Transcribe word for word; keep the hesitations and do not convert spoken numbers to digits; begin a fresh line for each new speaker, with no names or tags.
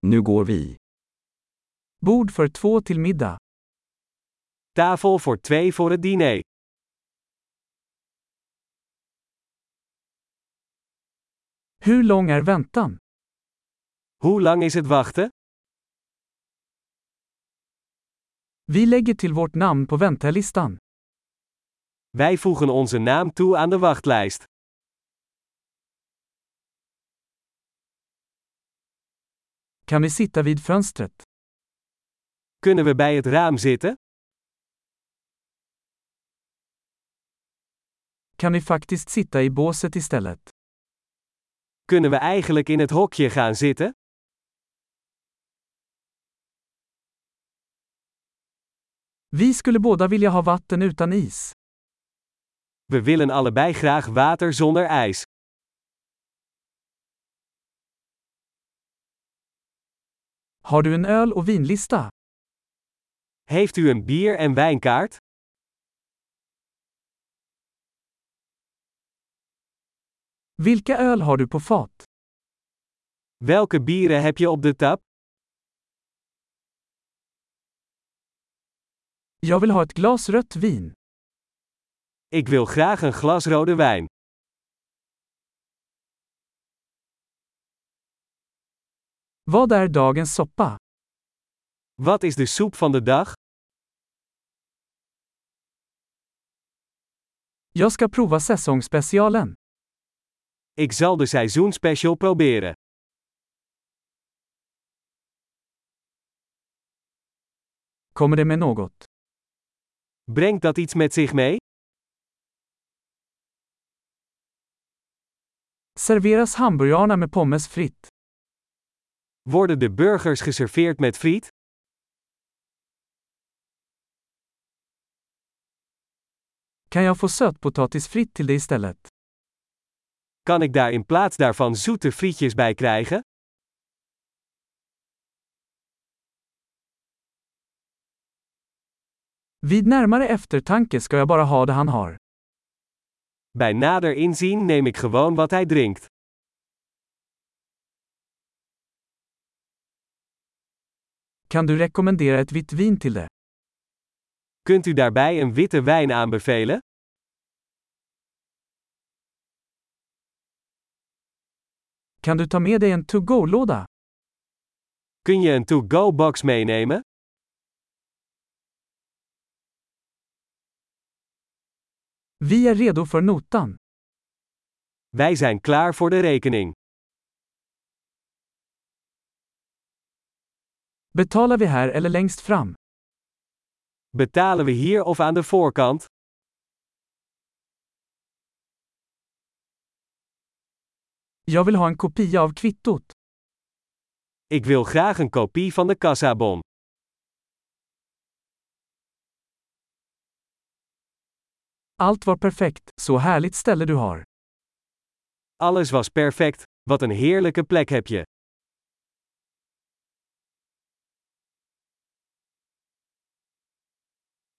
Nu går vi.
Bord för två till middag.
Tafel voor twee voor het diner.
Hur lång är väntan?
Hoe lang is het wachten?
Vi lägger till vårt namn på väntelistan.
Wij voegen onze naam toe aan de wachtlijst.
Kan vi sitta vid fönstret?
Kunnen we bij het raam zitten?
Kan vi faktiskt sitta i båset istället?
Kunnen we eigenlijk in het hokje gaan zitten?
Vi skulle båda vilja ha vatten utan is.
We willen allebei graag water zonder ijs.
Har du en öl- och vinlista?
Heeft u een bier- en wijnkaart?
Vilka öl har du på fat?
Welke bieren heb je op de tap?
Jag vill ha ett glas rött vin.
Ik wil graag een glas rode wijn.
Vad är dagens soppa?
Wat is de soep van de dag?
Jag ska prova säsongsspecialen.
Ik zal de seizoenspecial proberen.
Kommer det med något?
Brengt dat iets met zich mee?
Serveras hamburgarna med pommes fritt?
Worden de burgers geserveerd met friet?
Kan jag få sötpotatis fritt till det istället?
Kan ik daar in plaats daarvan zoete frietjes bij krijgen?
Vid närmare eftertanke ska jag bara ha det han har.
Bij nader inzien neem ik gewoon wat hij drinkt.
Kan du rekommendera ett vitt vin till det?
Kunt u daarbij een witte wijn aanbevelen?
Kan du ta med dig en to-go-låda?
Kun je een to-go-box meenemen?
Vi är redo för notan.
Wij zijn klaar voor de rekening.
Betalar vi här eller längst fram?
Betalen we hier of aan de voorkant?
Jag vill ha en kopia av kvittot.
Ik wil graag een kopie van de kassabon.
Allt var perfekt, så härligt ställe du har.
Alles was perfect, wat een heerlijke plek heb je.